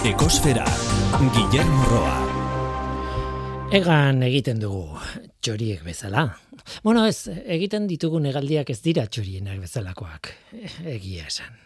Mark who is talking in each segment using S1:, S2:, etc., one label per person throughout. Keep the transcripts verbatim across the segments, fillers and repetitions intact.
S1: Ekosfera, Guillermo Roa.
S2: Egan egiten dugu txoriek bezala. Bueno, ez, egiten ditugun hegaldiak ez dira txorienak bezalakoak. Egia esan.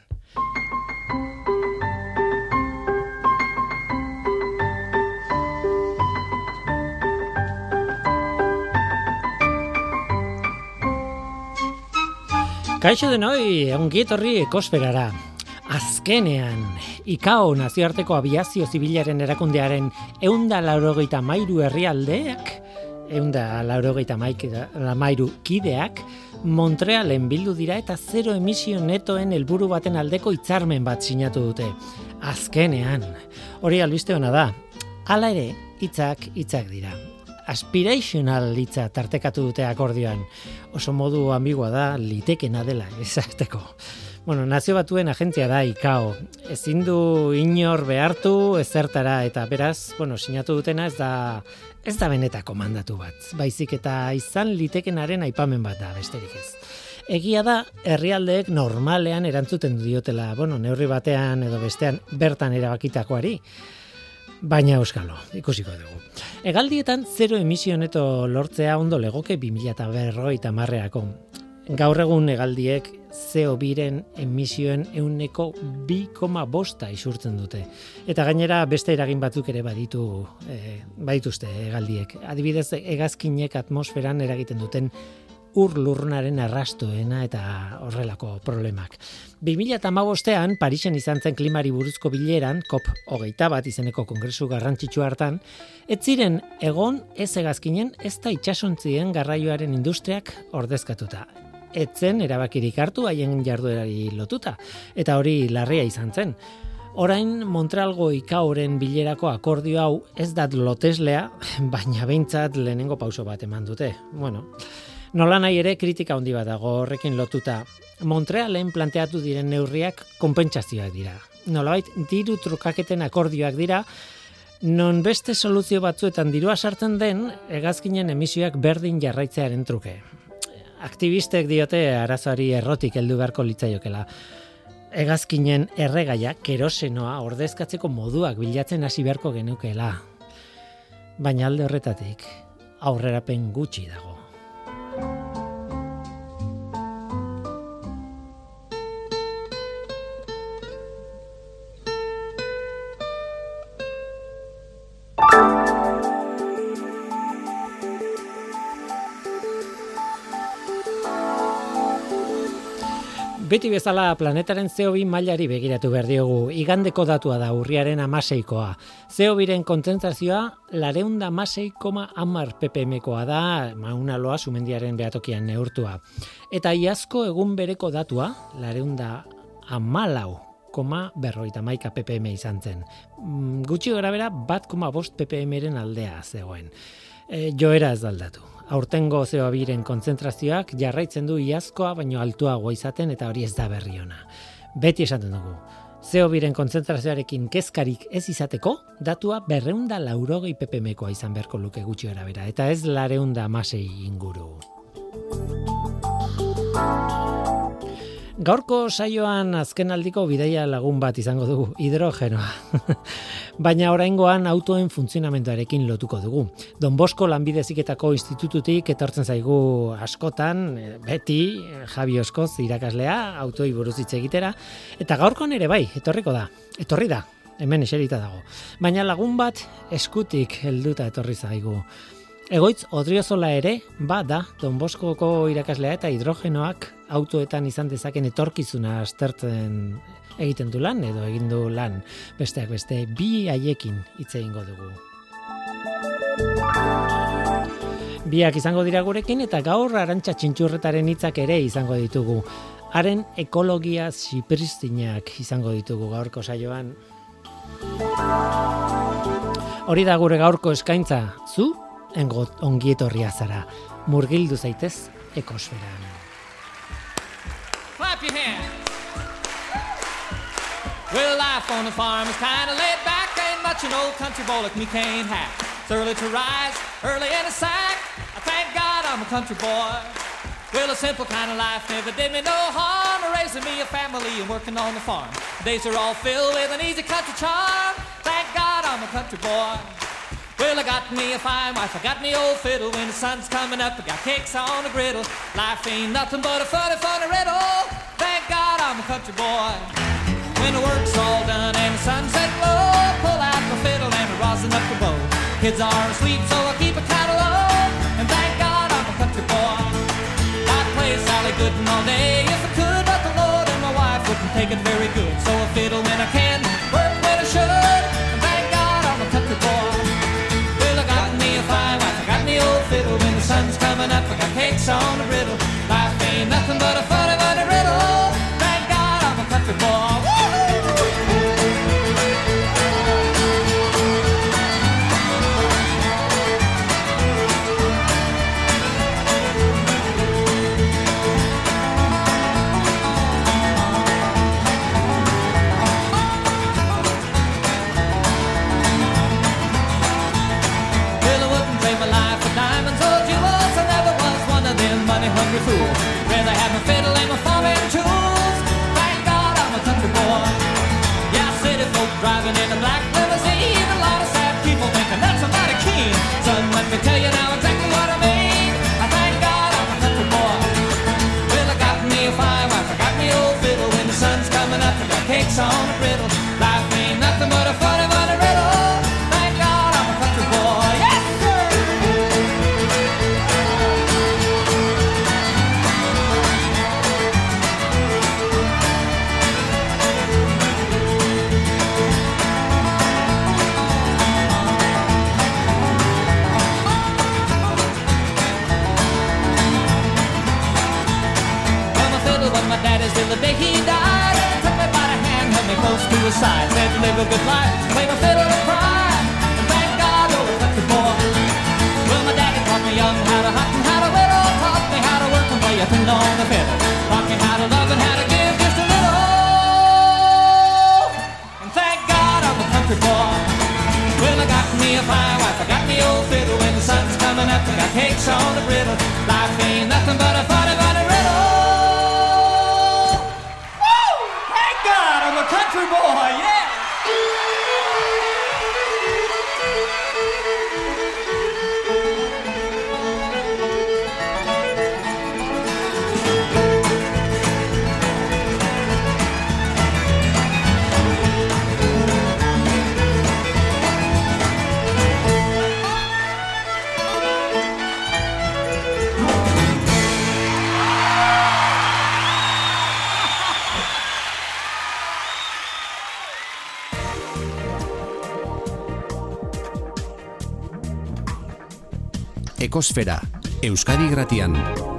S2: Kaixo denoi, ongi etorri Ekosferara. Azkenean, ICAO nazioarteko abiazio zibilaren erakundearen ehunda laurogeita hamairu herrialdeak, ehunda laurogeita hamairu kideak, Montrealen bildu dira eta zero emisio netoen helburu baten aldeko hitzarmen bat sinatu dute. Azkenean, hori albiste ona da. Hala ere, hitzak hitzak dira. Aspirational hitza tartekatu dute akordioan. Oso modu ambigua da, litekena dela esateko. Bueno, Nazio Batuen agentzia da ICAO. Ezin du inor behartu ezertara eta beraz, bueno, sinatu dutena ez da ez da benetako mandatu bat. Baizik eta izan litekenaren aipamen bat da, besterik ez. Egia da, herrialdeek normalean erantzuten diotela, bueno, neurri batean edo bestean bertan erabakitakoari. Baina euskalo, ikusiko dugu. Hegaldietan zero emisio neto lortzea ondo legoke bi mila berrogeita hamarreako. Gaur egun hegaldiek C O biren emisioen ehuneko bi koma bosta isurtzen dute. Eta gainera beste eragin batzuk ere baditu, eh, badituzte hegaldiek. Adibidez, hegazkinek atmosferan eragiten duten ur lurrunaren arrastoena eta horrelako problemak. bi mila hamabostean Parisen izan zen klimari buruzko bileran, COP hogeita bat izeneko kongresu garrantzitsu hartan, ez ziren egon ez hegazkinen ez da itsasontzien garraioaren industriak ordezkatuta. Etzen erabakirik hartu haien jarduerari lotuta, eta hori larria izan zen. Orain Montrealgo ICAOren bilerako akordio hau ez dat loteslea, baina behintzat lehenengo pauso bat eman dute. Bueno, nola nahi ere kritika handi bat dago horrekin lotuta. Montrealen planteatu diren neurriak konpentsazioak dira. Nolabait diru trukaketen akordioak dira, non beste soluzio batzuetan dirua sartzen den hegazkinen emisioak berdin jarraitzearen truke. Aktivistek diote arazoari errotik heldu beharko litzaiokela. Hegazkinen erregaia kerosenoa ordezkatzeko moduak bilatzen hasi beharko genukeela. Baina alde horretatik aurrerapen gutxi dago. Beti bezala planetaren C O bi mailari begiratu behar diogu. Igandeko datua da urriaren hamaseikoa. C O biren kontzentrazioa laurehun eta hamasei koma hamar ppmkoa da, Mauna Loa sumendiaren behatokian neurtua. Eta iazko egun bereko datua, laurehun eta hamalau koma berrogeita hamaika ppm izan zen. Gutxi gorabehera bat koma bost ppmren aldea zegoen. E, joera ez aldatu. Aurtengo C O biren kontzentrazioak jarraitzen du iazkoa baino altuago izaten eta hori ez da berri ona. Beti esaten dugu. C O biren kontzentrazioarekin kezkarik ez izateko, datua berrehun eta laurogei ppmkoa izan beharko luke gutxi gorabehera eta ez laurehun eta hamasei inguru. Gaurko saioan azkenaldiko bidaia lagun bat izango dugu, hidrogenoa. Baina oraingoan autoen funtzionamenduarekin lotuko dugu. Don Bosco Lanbide Heziketako Institututik etortzen zaigu askotan, beti Javi Oskoz irakaslea, autoi buruz hitz egitera, eta gaurkoan ere bai, etorriko da. Etorri da, hemen eserita dago. Baina lagun bat eskutik helduta etorri zaigu. Egoitz Odriozola ere, ba da, Don Boscoko irakaslea eta hidrogenoak autoetan izan dezaken etorkizuna aztertzen egiten du lan edo egin du lan. Besteak beste bi haiekin hitz egingo dugu. Biak izango dira gurekin eta gaur Arantxa Txintxurretaren hitzak ere izango ditugu. Haren ekologia zipristinak izango ditugu gaurko saioan. Hori da gure gaurko eskaintza, zu? Engot ongietorria zara. Murgildu zaitez Ekosferan.
S3: Clap your hands. Well, life on the farm is kind of laid back. Ain't much an old country boy like me can't have. It's early to rise, early in the sack. I thank God I'm a country boy. Well, a simple kind of life never did me no harm. Raising me a family and working on the farm. Days are all filled with an easy country charm. Thank a country boy. Well, I got me a fine wife, I got me old fiddle. When the sun's coming up, I got cakes on the griddle. Life ain't nothing but a funny, funny riddle. Thank God I'm a country boy. When the work's all done and the sunset low, pull out my fiddle and I rosin up the bow. Kids are asleep, so I keep a cattle low. And thank God I'm a country boy. I'd play Sally Gooden all day if I could, but the Lord and my wife wouldn't take it very good. So I fiddle when I can, work when I should. And thank God I'm a country boy. Well, I got me a fine wife, I got me old fiddle. When the sun's coming up, I got cakes on the griddle. Life ain't nothing but a funny, funny riddle. Thank God I'm a country boy. Hungry fool, rather have my fiddle and my farming tools. Thank God I'm a country boy. Yeah, city folk driving in a black limousine. A lot of sad people thinking that's a mighty keen. Son, let me tell you now exactly what I mean. I thank God I'm a country boy. Well, I got me a fine wife, I got me old fiddle. When the sun's coming up, I got cakes on the griddle. Life ain't nothing but a funny, funny riddle. Thank God I'm a country boy. Yes, sir. Till the day he died, took me by the hand, held me close to his side, said live a good life, play my fiddle and cry, and thank God you're a country boy. Well, my daddy taught me young how to hunt and how to whittle, taught me how to work and play a tune on the fiddle, taught me how to love and how to give just a little, and thank God I'm a country boy. Well, I got me a fine wife, I got me old fiddle. When the sun's coming up, I got cakes on the griddle. Life ain't nothing but a funny, funny riddle. Country boy, yeah!
S1: Ekosfera, Euskadi Irratian.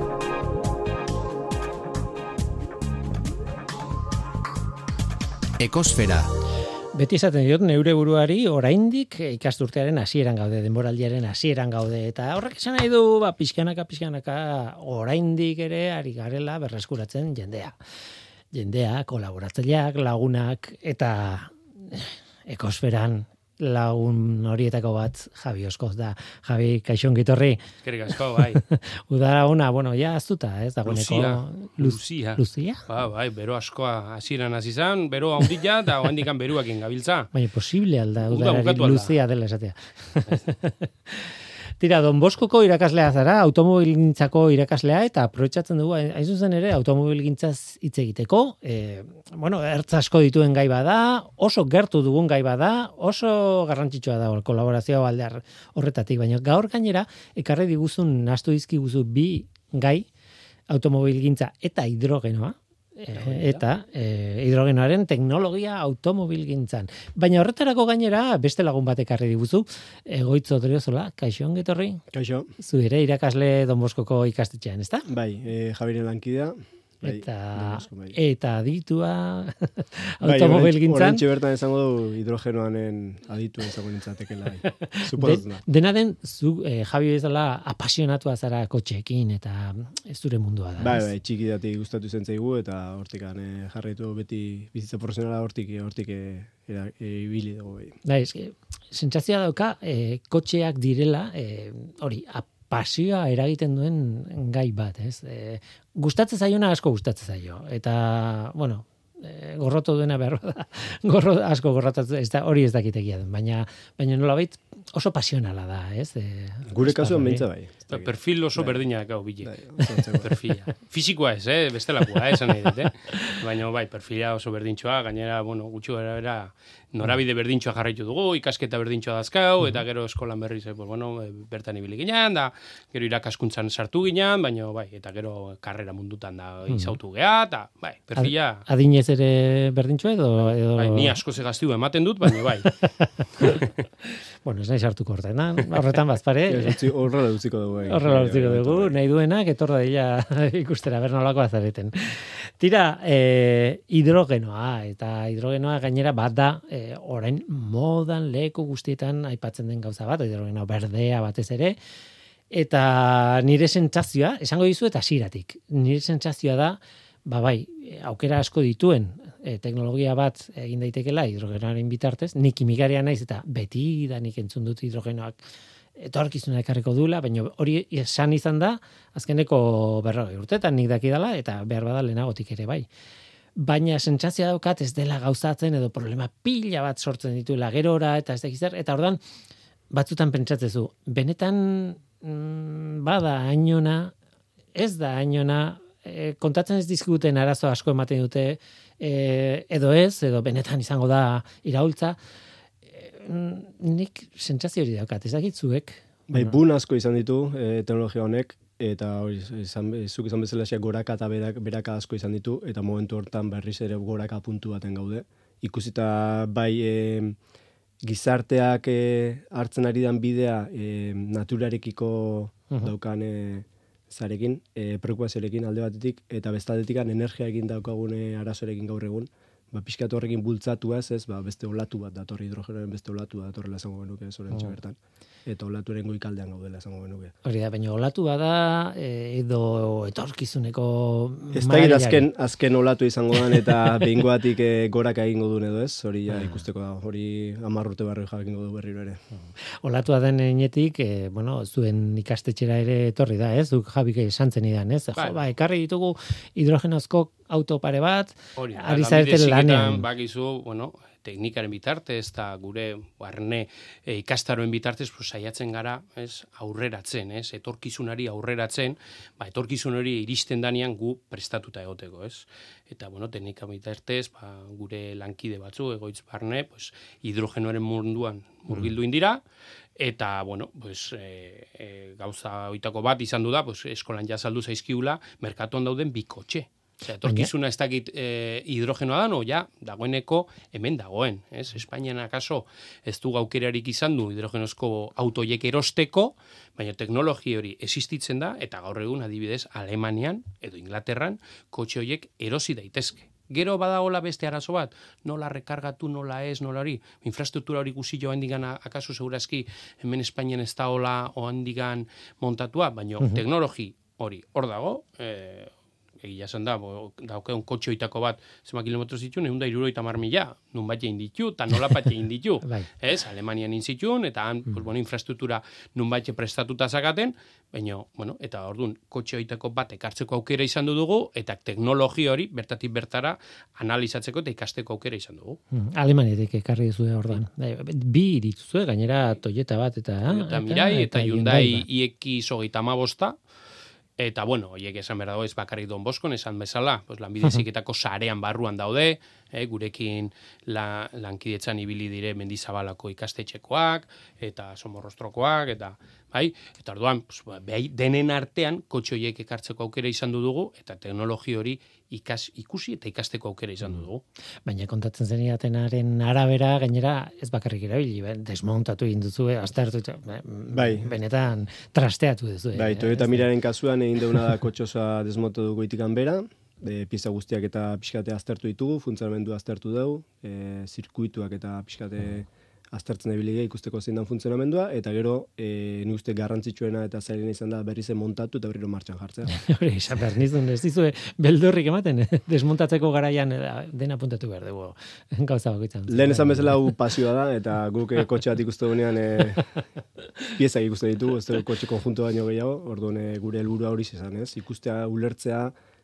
S1: Ekosfera.
S2: Beti esaten diot neure buruari oraindik ikasturtearen hasieran gaude, denboraldiaren hasieran gaude, eta horrek esan nahi du, ba, pixkanaka, pixkanaka, oraindik ere ari garela berreskuratzen jendea. Jendea, kolaboratzaileak, lagunak, eta ekosferan lagun horietako bat Javi Oskoz da. Javi, kaixo ongi etorri.
S4: Eskerrik asko, bai.
S2: Udara ona, bueno, ja aztuta, ez dagoeneko.
S4: Luzia.
S2: Luzia?
S4: Ba, bai, bero askoa hasieran hasi izan, bero handia eta oraindik beruakin gabiltza.
S2: Baina posible alda udarari luzia dela esatea. Tira, Don Boskoko irakaslea zara, automobilgintzako irakaslea, eta aprobetxatzen dugu, hain zuzen ere, automobilgintzaz hitz egiteko. E, bueno, ertz asko dituen gai bada, oso gertu dugun gai bada, oso garrantzitsua da kolaborazioa alde horretatik, baina gaur gainera, ekarri diguzun, nahastu dizkiguzu bi gai, automobilgintza eta hidrogenoa, eta e, hidrogenoaren teknologia automobilgintzan. Baina horretarako gainera beste lagun bat ekarri diguzu, Egoitz Odriozola, kaixo ongi etorri.
S5: Kaixo.
S2: Zu ere irakasle Don Boskoko ikastetxean, ezta?
S5: Bai, e, Javiren lankidea. Bai,
S2: eta
S5: Bosko, bai.
S2: eta aditua automobilgintzan.
S5: Horrentxe bertan esango du hidrogenoanen aditua izango nintzatekela.
S2: Den, dena den, zu, eh, Javi bezala apasionatua zara kotxeekin eta ez zure mundua da.
S5: Bai, bai, txiki datik gustatu zen zaigu eta hortikan eh, jarraitu beti bizitza profesionala hortik hortik ibili dugu. Bai,
S2: bai eske, sentsazioa dauka eh, kotxeak direla eh, hori, pasioa eragiten duen gai bat, ez? E, gustatzen zaiona asko gustatzen zaio. Eta, bueno, e, gorroto duena behar da, gorro, asko gorrotatzen, ez da, hori ez dakitegia den, baina, baina nolabait oso pasionala da, ez? E,
S5: Gure kasuan mentza bai.
S4: Perfil oso berdina gau bile.
S5: Bai,
S4: perfila. Fisikoa ez, eh? Bestelakoa, eh? Esan nahi dut, eh? Baina bai, perfila oso berdintxoa, gainera, bueno, gutxi gara bera, norabide berdintxoa jarraitu dugu, ikasketa berdintxoa dazkau, eta gero eskolan berriz, eh, pues, bueno, bertan ibili ginen, da, gero irakaskuntzan sartu ginen, baina bai, eta gero karrera mundutan da izautu geha, eta bai, perfila...
S2: Adinez ere berdintxoa edo... edo...
S4: Bai, ni asko zegaztiu ematen dut, baina bai.
S2: Bueno, ez nahi sartuko horretan, horretan bazpare.
S5: Horrela utziko dugu.
S2: Horrela utziko dugu, nahi duenak, etorra dira ikustera, ber nolako azareten. Tira, eh, hidrogenoa, eta hidrogenoa gainera bat da, eh, orain modan leku guztietan aipatzen den gauza bat, hidrogenoa berdea batez ere, eta nire sentsazioa, esango dizu eta hasieratik, nire sentsazioa da, ba bai, aukera asko dituen, e, teknologia bat egin daitekela hidrogenoaren bitartez, nik kimikaria naiz eta beti da nik entzun dut hidrogenoak etorkizuna ekarriko duela, baina hori esan izan da, azkeneko berrogei urtetan nik dakidala, eta behar bada lehenagotik ere bai. Baina sentsazioa daukat ez dela gauzatzen edo problema pila bat sortzen dituela gerora, eta ez dakiz zer, eta ordan batzutan pentsatzezu, benetan mm, bada hainona, ez da hainona, e, kontatzen ez dizkiguten arazo asko ematen dute, e, edo ez, edo benetan izango da iraultza, nik sentsazio hori daukat, ez dakit zuek.
S5: Bai, bun asko izan ditu e, teknologia honek, eta hori, izan, zuk izan bezala goraka eta berak, beraka asko izan ditu, eta momentu hortan berriz ere goraka puntu baten gaude. Ikusita bai e, gizarteak e, hartzen ari dan bidea e, naturarekiko uh-huh. daukan e, zarekin, e, preokupazioarekin alde batetik, eta bestaldetik energiaekin daukagune arazorekin gaur egun, ba, pixkatu horrekin bultzatuaz, ez, ba, beste olatu bat datorri, hidrogenoaren beste olatu bat datorrela esango genuke, zorentxe oh. bertan. Eta olatuaren goikaldean gaudela esango genuke.
S2: Hori da, baina olatu bada edo etorkizuneko
S5: ez da azken, azken olatu izango dan eta behingoatik e, goraka egingo duen edo ez, hori ja, ikusteko da, hori amarrute barri jakingo du berriro ere.
S2: Olatua den enetik, e, bueno, zuen ikastetxera ere etorri da, ez? Duk Jabik esan zen idan, ez? Jo, ba, ekarri ditugu hidrogenozko auto pare bat,
S4: hori,
S2: ari zareten lanean.
S4: Bakizu, bueno, teknikaren bitartez eta gure barne e, ikastaroen bitartez pues, saiatzen gara, ez, aurreratzen, ez, etorkizunari aurreratzen, ba, etorkizun hori iristen danean gu prestatuta egoteko, ez. Eta, bueno, teknika bitartez, ba, gure lankide batzu, egoitz barne, pues, hidrogenoaren munduan murgildu indira, eta, bueno, pues, e, e, gauza oitako bat izan du da, pues, eskolan jazaldu zaizkiula, merkatuan dauden bikotxe. Osea, etorkizuna ez dakit e, hidrogenoa da, no, ja, dagoeneko hemen dagoen, ez? Espainian akaso ez du gaukerarik izan du hidrogenozko autoiek erosteko, baina teknologi hori existitzen da, eta gaur egun adibidez Alemanian edo Inglaterran kotxe horiek erosi daitezke. Gero badagola beste arazo bat, nola rekargatu, nola ez, nola hori, infrastruktura hori guzi joan digan akaso segurazki hemen Espainian ez da hola oandigan montatua, baina uh-huh. teknologi hori hor dago, eh, egia esan da, daukeun kotxoitako bat zema kilometros ditu, ehun eta hirurogeita hamar mila, nun bat egin ditu, eta nola bat egin ditu. Ez, Alemanian inzitun, eta han, mm. pues, bueno, infrastruktura nun bat prestatuta zakaten, baina, bueno, eta orduan, kotxoitako bat ekartzeko aukera izan dugu, eta teknologi hori, bertatik bertara, analizatzeko eta ikasteko aukera izan dugu.
S2: Mm. Alemaniatik ekarri duzu orduan. Bi dituzue, gainera Toyota bat, eta...
S4: Toyota Mirai, eta, eta Hyundai I X hogeita hamabosta, eta, bueno, horiek esan behar dago ez bakarrik Don Boskon, esan bezala, pues, lanbide heziketako sarean barruan daude, eh, gurekin la, lankidetzan ibili dire Mendizabalako ikastetxekoak, eta Somorrostrokoak, eta bai, eta orduan, pues, behai, denen artean, kotxe horiek ekartzeko aukera izan dugu, eta teknologi hori ikas, ikusi eta ikasteko aukera izan dugu.
S2: Baina kontatzen zenidatenaren arabera, gainera, ez bakarrik erabili, ben, desmontatu egin duzu, aztertu,
S5: bai.
S2: benetan trasteatu duzu.
S5: Bai, Toyota Miraren kasuan egin deuna da kotxosa desmontu dugu itikan bera, e, pieza guztiak eta pixkate aztertu ditugu, funtzionamendu aztertu dugu, e, zirkuituak eta pixkate aztertzen ebiligea ikusteko zein dan funtzionamendua, eta gero, e, ni uste garrantzitsuena eta zailena izan da berriz montatu eta berriro martxan jartzea.
S2: Hori, izan behar nizun, ez dizue beldurrik ematen, desmontatzeko garaian dena puntatu behar dugu gauza bakoitzan.
S5: Lehen esan bezala hau pasioa da, eta guk kotxe bat ikuste duenean e, piezak ikuste ditu, ez dugu kotxe konjunto baino gehiago, orduan e, gure helburua hori izan, ez? Ikustea, ulertzea,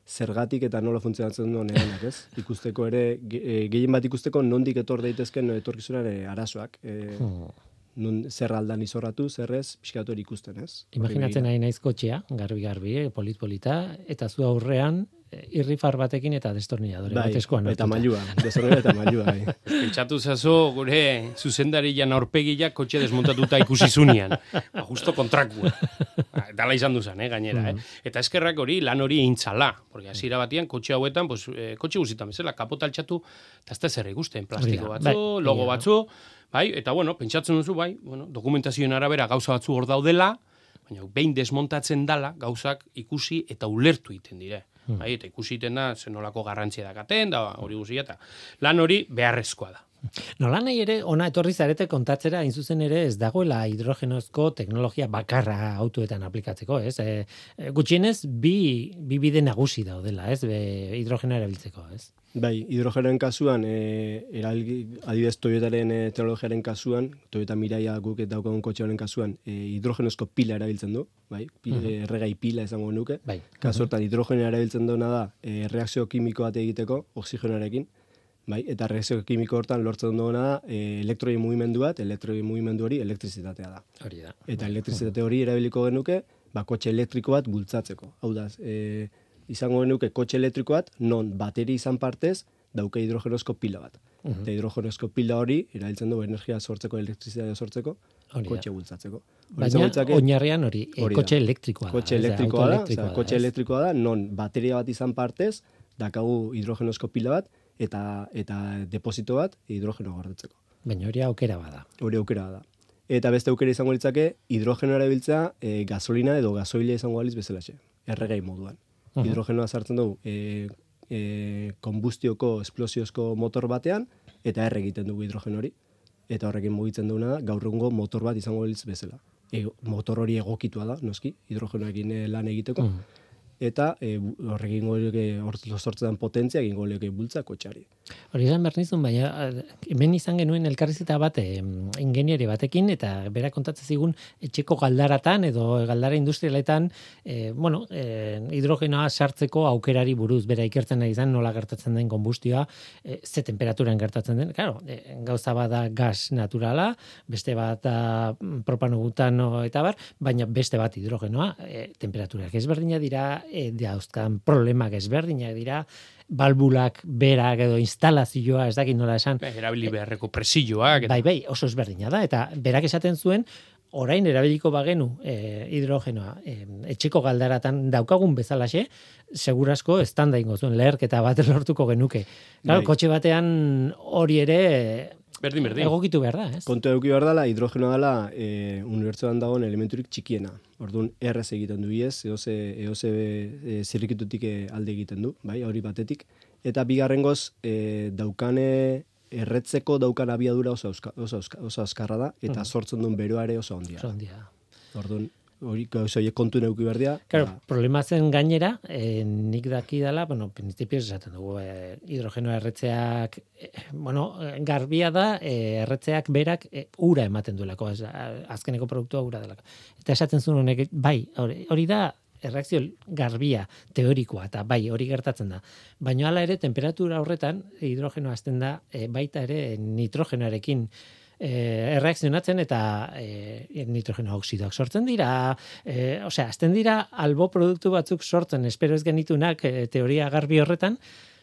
S5: zergatik eta nola funtzionatzen duen eganak, ez? Ikusteko ere, ge, gehien bat ikusteko nondik etor daitezken etorkizunare arazoak. E, hmm. nun zer aldan izorratu, zerrez, pixkatu hori ikusten, ez?
S2: Imaginatzen nahi naiz kotxea, garbi-garbi, polit-polita, eta zu aurrean irrifar batekin eta destornilladore
S5: bai,
S2: bat eskuan.
S5: Eta mailua, destornilladore eta mailua. Bai.
S4: Pentsatu zazu gure zuzendarian aurpegiak kotxe desmontatuta ikusi zunean. Ba, justo kontrakua. Dala izan duzan, eh, gainera. Mm. Eh? Eta eskerrak hori, lan hori eintzala. Porque hasiera batian, kotxe hauetan, pues, eh, kotxe guzitan bezala, kapota altxatu, eta ez da zer ikusten, plastiko batzu, bai, logo bai, batzu, bai, eta bueno, pentsatzen duzu, bai, bueno, dokumentazioen arabera gauza batzu hor daudela, baina behin desmontatzen dala, gauzak ikusi eta ulertu egiten dire. Hmm. Bai, eta ikusi egiten da, zenolako garrantzia dakaten, da hori guzia, eta lan hori beharrezkoa da.
S2: Nola nahi ere, ona etorri zarete kontatzera, hain zuzen ere ez dagoela hidrogenozko teknologia bakarra autoetan aplikatzeko, ez? E, gutxienez, bi, bi bide nagusi daudela, ez? Be, hidrogena erabiltzeko, ez?
S5: Bai, hidrogenen kasuan, e, eralgi, adibidez Toyotaren e, teknologiaren kasuan, Toyota Miraia guk daukagun kotxearen kasuan, e, hidrogenozko pila erabiltzen du, bai, pila, uh-huh. erregai pila esango nuke. Bai. Kasu hortan, uh-huh. hidrogena erabiltzen duena da, e, reakzio kimiko bat egiteko, oxigenoarekin, bai, eta reakzio kimiko hortan lortzen duena da, e, elektroien mugimendu bat, elektroien mugimendu hori elektrizitatea da. Hori da. Eta elektrizitate hori erabiliko genuke, ba, kotxe elektriko bat bultzatzeko. Hau da, e, izango genuke kotxe elektriko bat, non bateri izan partez, dauke hidrogenozko pila bat. Uh-huh. Eta hidrogenozko pila hori, erabiltzen du energia sortzeko, elektrizitatea sortzeko, kotxe bultzatzeko.
S2: Baina, oinarrian hori, e, kotxe elektrikoa da.
S5: Kotxe elektrikoa da, oza, kotxe elektrikoa da, non bateria bat izan partez, dakagu hidrogenozko pila bat, eta eta deposito bat hidrogeno gordetzeko.
S2: Baina hori aukera bada.
S5: Hori aukera bada. Eta beste aukera izango litzake hidrogenoa erabiltzea e, gasolina edo gasoila izango aliz bezalaxe, erregai moduan. Uh-huh. Hidrogenoa sartzen dugu e, e, konbustioko esplosiozko motor batean eta erre egiten dugu hidrogeno hori. Eta horrekin mugitzen duguna da gaur egungo motor bat izango aliz bezala. E, motor hori egokitua da, noski, hidrogenoekin lan egiteko. Uh-huh. Eta e, horrekin goleoke sortzen potentzia egin goleoke bultza kotxari.
S2: Hori izan behar nizun, baina hemen izan genuen elkarrizeta bat e, ingenieri batekin, eta bera kontatzen zigun etxeko galdaratan edo galdara industrialetan e, bueno, e, hidrogenoa sartzeko aukerari buruz, bera ikertzen nahi izan nola gertatzen den konbustioa, e, ze temperaturan gertatzen den. Claro, e, gauza bat da gas naturala, beste bat da propano butano eta bar, baina beste bat hidrogenoa, e, temperaturak ezberdina dira, E, dauzkan problemak ezberdinak dira, balbulak berak edo instalazioa, ez dakit nola esan.
S4: Erabili beharreko presioak.
S2: Bai, bai, oso ezberdina da, eta berak esaten zuen, orain erabiliko bagenu e, hidrogenoa e, etxeko galdaratan daukagun bezalaxe, segurasko estanda ingo zuen leherketa bat lortuko genuke. Claro, bai. Kotxe batean hori ere
S4: berdin, berdin.
S2: egokitu behar da, ez?
S5: Kontu eduki behar dela, hidrogenoa dela e, unibertsoan dagoen elementurik txikiena. Orduan, erraz egiten du iez, eoze, eoze e, zirrikitutik alde egiten du, bai, hori batetik. Eta bigarrengoz, e, daukane erretzeko daukan abiadura oso, oso, oso azkarra da, eta mm. sortzen duen beroa ere oso ondia.
S2: Oso ondia.
S5: Orduan, hori horiek kontu neuki berdia.
S2: Claro, ba. Problema zen gainera, eh, nik daki dela, bueno, principios esaten dugu, eh, hidrogenoa erretzeak, eh, bueno, garbia da, eh, erretzeak berak eh, ura ematen duelako, ez, azkeneko produktua ura delako. Eta esaten zuen honek, bai, hori, hori da, erreakzio garbia, teorikoa, eta bai, hori gertatzen da. Baina hala ere, temperatura horretan, hidrogenoa azten da, eh, baita ere nitrogenoarekin, Eh, erreakzionatzen eta eh, nitrogeno oksidoak sortzen dira, eh, osea, azten dira albo produktu batzuk sortzen, espero ez genitunak eh, teoria garbi horretan,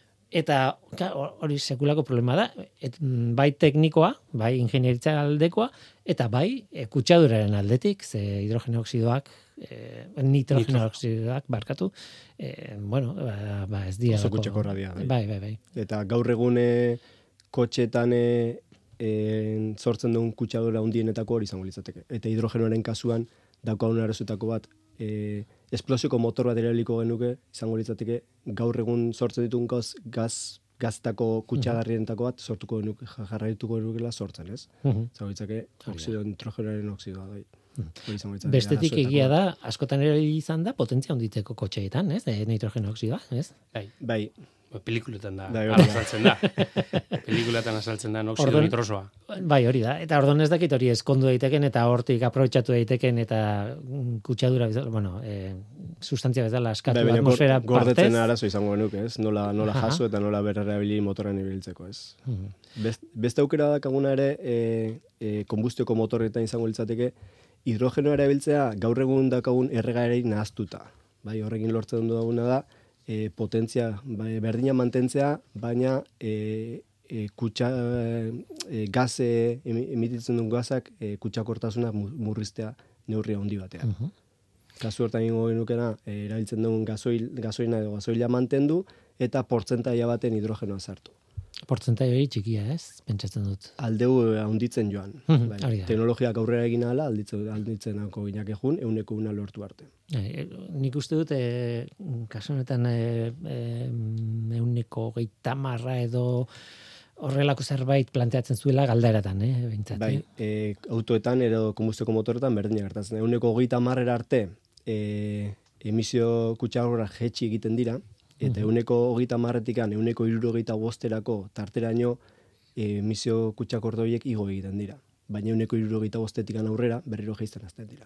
S2: eta hori sekulako problema da, et, bai teknikoa, bai ingenieritza aldekoa, eta bai e, kutsaduraren aldetik, ze hidrogeno oksidoak, e, nitrogeno oksidoak barkatu, e, bueno, ba, ba ez dira.
S5: Oso kutseko radia.
S2: Bai, bai, bai.
S5: Eta gaur egune kotxetan e, E, sortzen duen kutsadura hundienetako hori izango litzateke. Eta hidrogenoaren kasuan daukagun arazoetako bat e, esplosioko motor bat erabiliko genuke izango litzateke gaur egun sortzen ditun gaz, gaz gaztako kutsagarrienetako bat sortuko genuke, jarraituko genukela sortzen, ez? Uh-huh. Izango litzake oksido, nitrogenoaren oksidoa bai.
S2: Hmm. Bestetik egia da, askotan ere izan da, potentzia honditzeko kotxeetan, ez? E, nitrogeno oksidoa, ez?
S5: Bai. Bai.
S4: Pelikuletan da,
S5: Bai, hori da.
S4: azaltzen da. Pelikuletan azaltzen da noxido
S2: Orduan-
S4: nitrosoa.
S2: Bai, hori da. Eta orduan ez dakit hori eskondu daiteken eta hortik aprobetxatu daiteken eta mm, kutsadura bezala, bueno, e, sustantzia bezala askatu
S5: Bai, baina gor-
S2: atmosfera
S5: gordetzen
S2: partez.
S5: arazo izango genuke, ez? Nola, nola
S2: Aha.
S5: jaso eta nola berrerabili motoran ibiltzeko, ez?
S2: Mhm.
S5: Best, beste aukera dakaguna ere, e, e, konbustioko motorretan izango litzateke, hidrogenoa erabiltzea gaur egun dakagun erregaerei nahaztuta. Bai, horrekin lortzen duguna da, e, potentzia bai, berdina mantentzea, baina e, e, kutsa, e, gaze, emi- emititzen duen gazak, e, kutsakortasuna mu- murriztea neurri handi batean.
S2: Mhm.
S5: Kasu hortan ingo genukena, e, erabiltzen dugun gasoil, gasoina edo gasoila mantendu, eta portzentaia baten hidrogenoa sartu.
S2: Portzentai hori txikia, ez? Pentsatzen dut.
S5: Aldeu handitzen joan.
S2: Mhm,
S5: Bai,
S2: hori da.
S5: teknologiak aurrera egin ahala, alditzen, alditzen hako ginake jun, euneko una lortu arte.
S2: E, nik uste dut, e, kasu honetan e, e, euneko geita marra edo horrelako zerbait planteatzen zuela galderatan, eh? Behintzat,
S5: Bai,
S2: eh?
S5: e, autoetan edo konbustioko motoretan berdina gertatzen. Euneko hogeita marrera arte e, emisio kutsakorra jetxi egiten dira, eta euneko hogeita marretikan euneko hirurogeita bosterako tarteraino e, emisio kutsakordo horiek igo egiten dira. Baina euneko hirurogeita bostetikan aurrera berriro jaisten hasten dira.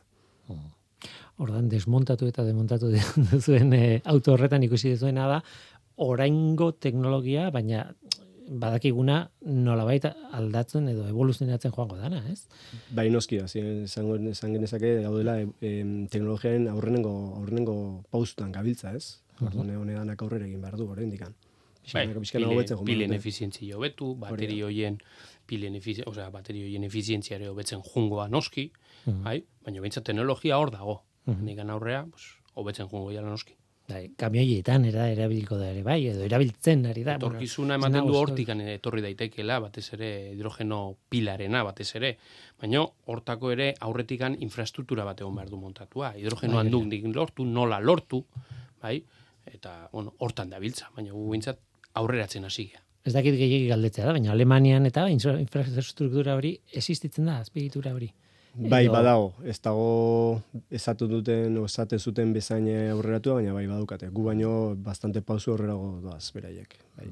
S2: Ordan desmontatu eta demontatu duzuen e, auto horretan ikusi duzuena da oraingo teknologia, baina badakiguna nolabait aldatzen edo evoluzionatzen joango dana, ez?
S5: Bai, noski, hasi esango esan genezake gaudela e, em, teknologiaren aurrenengo aurrenengo pausutan gabiltza, ez? Orduan honedanak aurrera egin behar du oraindikan.
S4: Bai,
S5: Pixkanaka, pixkana
S4: pile,
S5: hobetzen joan
S4: pilen
S5: behar dute.
S4: efizientzia hobetu,
S5: da.
S4: bateri hoien pilen efizi, osea, bateri hoien efizientzia ere hobetzen jungoa noski, bai, baina behintzat teknologia hor dago. Nikan aurrea, pues, hobetzen jungo jala noski.
S2: Bai, kamioietan era erabiliko da ere bai, edo erabiltzen ari da.
S4: Etorkizuna
S2: bueno,
S4: ematen
S2: ez
S4: du
S2: nago
S4: hortikan etorri daitekeela, batez ere hidrogeno pilarena, batez ere. Baina hortako ere aurretikan infrastruktura bat egon behar du montatua. Hidrogeno
S2: Bai,
S4: handuk nik lortu, nola lortu, bai? Eta, bueno, hortan dabiltza, baina gu bintzat aurreratzen hasi gea.
S2: Ez dakit gehiagik galdetzea da, baina Alemanian eta infra- infrastruktura hori existitzen da, azpiegitura hori.
S5: Bai,
S2: Edo-
S5: badago, ez dago esatu duten, o esate zuten bezain aurreratua, baina bai badukate. Gu baino bastante pausu aurrerago doaz, beraiek. Bai.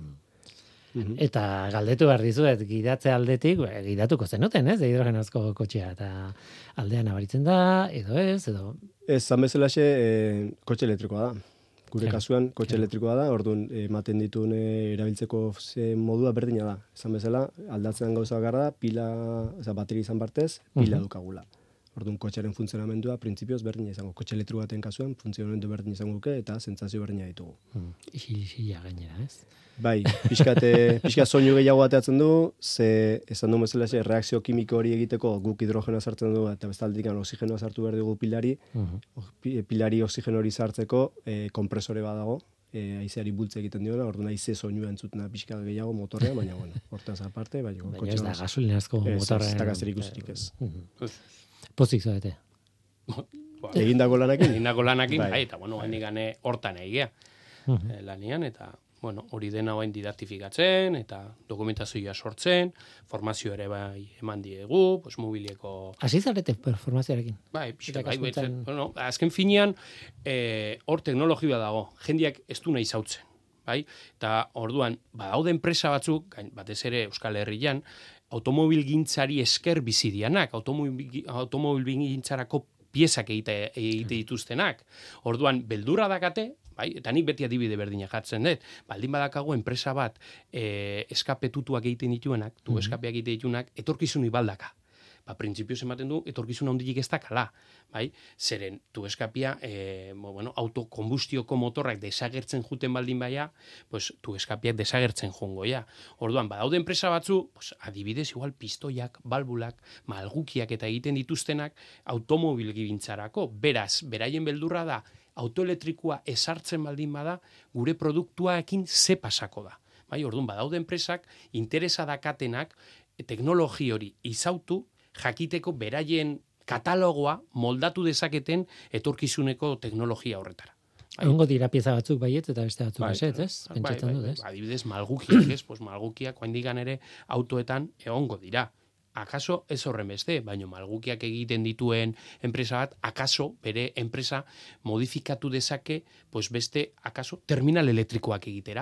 S2: Eta galdetu behar dizuet, gidatze aldetik, ba, gidatuko zenuten, ez, hidrogenozko kotxea, eta aldean abaritzen da, edo ez, edo...
S5: Ez, zan bezalaxe, e, kotxe elektrikoa da. Gure
S2: Claro,
S5: kasuan, kotxe
S2: claro.
S5: elektrikoa da, orduan ematen dituen e, erabiltzeko ze modua berdina da. Esan bezala, aldatzen gauza bakarra da, pila, oza, bateri izan partez, pila dukagula. Orduan, kotxearen funtzionamendua, printzipioz berdina izango. Kotxe elektro baten kasuan, funtzionamendu berdina izango duke, eta sentsazio berdina ditugu.
S2: Hmm, isil-isila gainera, ez?
S5: Bai, pixkate, pixka soinu gehiago ateatzen du, ze esan du bezala ze reakzio kimiko hori egiteko guk hidrogenoa sartzen du eta bestaldetik oxigenoa sartu behar dugu pilari,
S2: Mhm.
S5: pi- pilari oxigeno hori sartzeko e, kompresore badago, e, haizeari bultze egiten diona, orduan haize soinua entzutena pixka gehiago motorrean, baina bueno, hortaz aparte, bai,
S2: Baina ez da gasolinazko
S5: Ez, ez,
S2: motorren...
S5: ez da zerikusirik ez.
S2: Mhm. Pozik zaudete.
S4: Ba,
S5: Egindako lanakin?
S4: egindako lanakin,
S5: Bai.
S4: bai, eta bueno, hain gane hortan egea
S2: Mhm.
S4: lanian, eta bueno, hori dena bain didaktifikatzen, eta dokumentazioa sortzen, formazio ere bai eman diegu, pues mobilieko
S2: Hasi zarete formazioarekin.
S4: Bai, pixka, bai, bai,
S2: Irakaskuntzan-
S4: bueno, azken finean, eh, hor teknologia dago, jendiak ez du nahi zautzen, bai? Eta orduan, badaude enpresa batzuk, gain- batez ere Euskal Herrian, automobilgintzari esker bizi dianak, automobil, automobilgintzarako piezak egite, egite dituztenak. Orduan, beldurra dakate, bai, eta nik beti adibide berdina jartzen dut, baldin badakago enpresa bat e, eskapetutuak egiten dituenak, tu eskapeak egiten dituenak, etorkizun ibaldaka. Ba, printzipioz ematen du, etorkizun handilik ez dakala, bai? Zeren, tu eskapia, e, bueno, autokonbustioko motorrak desagertzen juten baldin baia, pues, tu eskapiak desagertzen jongo, ja. Orduan, badaude enpresa batzu, pues, adibidez, igual, pistoiak, balbulak, malgukiak eta egiten dituztenak automobil gintzarako. Beraz, beraien beldurra da, autoelektrikoa esartzen baldin bada, gure produktuaekin ze pasako da. Bai, orduan, badaude enpresak, interesa dakatenak, teknologi hori izautu, jakiteko beraien katalogoa moldatu dezaketen etorkizuneko teknologia horretara. Bai.
S2: Egongo dira pieza batzuk baiet eta beste batzuk
S4: Bai,
S2: eset, ez?
S4: bai,
S2: Pentsatzen
S4: bai,
S2: dut,
S4: bai,
S2: ez?
S4: adibidez, malgukiak, ez? Pues malgukiak oaindikan ere autoetan egongo dira. Akaso ez horren beste, baina malgukiak egiten dituen enpresa bat, akaso bere enpresa modifikatu dezake, pues beste, akaso, terminal elektrikoak egitera.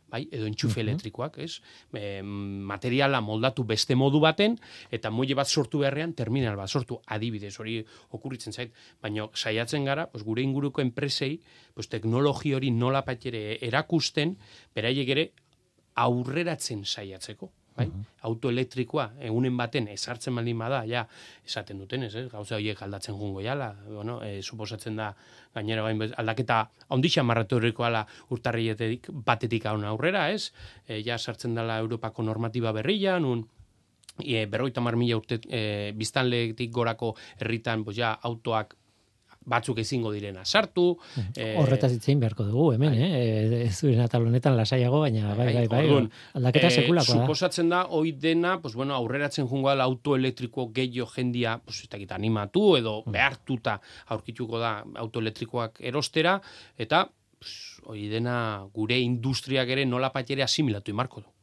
S4: bai, edo entxufe elektrikoak, ez? E, materiala moldatu beste modu baten, eta muile bat sortu beharrean terminal bat sortu, adibidez, hori okurritzen zait, baina saiatzen gara, pues, gure inguruko enpresei, pues, teknologi hori nola ere erakusten, beraiek ere aurreratzen saiatzeko. Bai? Uh-huh. Auto elektrikoa egunen baten ezartzen baldin bada, ja, esaten duten, ez, eh? Gauza horiek aldatzen jungo jala, bueno, e, suposatzen da gainera bain aldaketa ondixan marratorikoala urtarrietetik batetik haun aurrera, ez? E, ja sartzen dela Europako normatiba berria, nun e, berroita mar mila urte e, biztanletik gorako herritan, pues, ja, autoak batzuk ezingo direna sartu.
S2: Horretaz itzein beharko dugu, hemen, eh? Ez zuen atal honetan lasaiago, baina bai, bai, bai, bai, aldaketa sekulakoa da.
S4: Suposatzen da, hoi dena, pues, bueno, aurreratzen jungo da auto elektriko gehiago jendia, pues, ez dakit, animatu edo behartuta aurkituko da auto elektrikoak erostera, eta pues, hoi dena gure industriak ere nola patere asimilatu imarko du.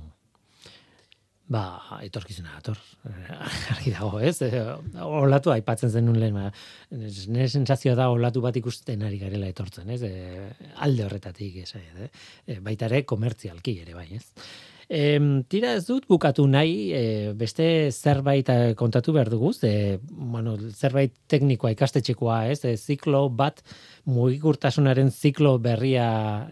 S2: Ba, etorkizuna dator. Argi dago, ez? Olatu aipatzen zenun lehen. Nire sensazioa da olatu bat ikusten ari garela etortzen, ez? E, alde horretatik, ez? E, baita ere komertzialki ere bai, ez? E, tira ez dut bukatu nahi, e, beste zerbait kontatu behar dugu, e, bueno, zerbait teknikoa ikastetxekoa, ez? E, ziklo bat, mugikortasunaren ziklo berria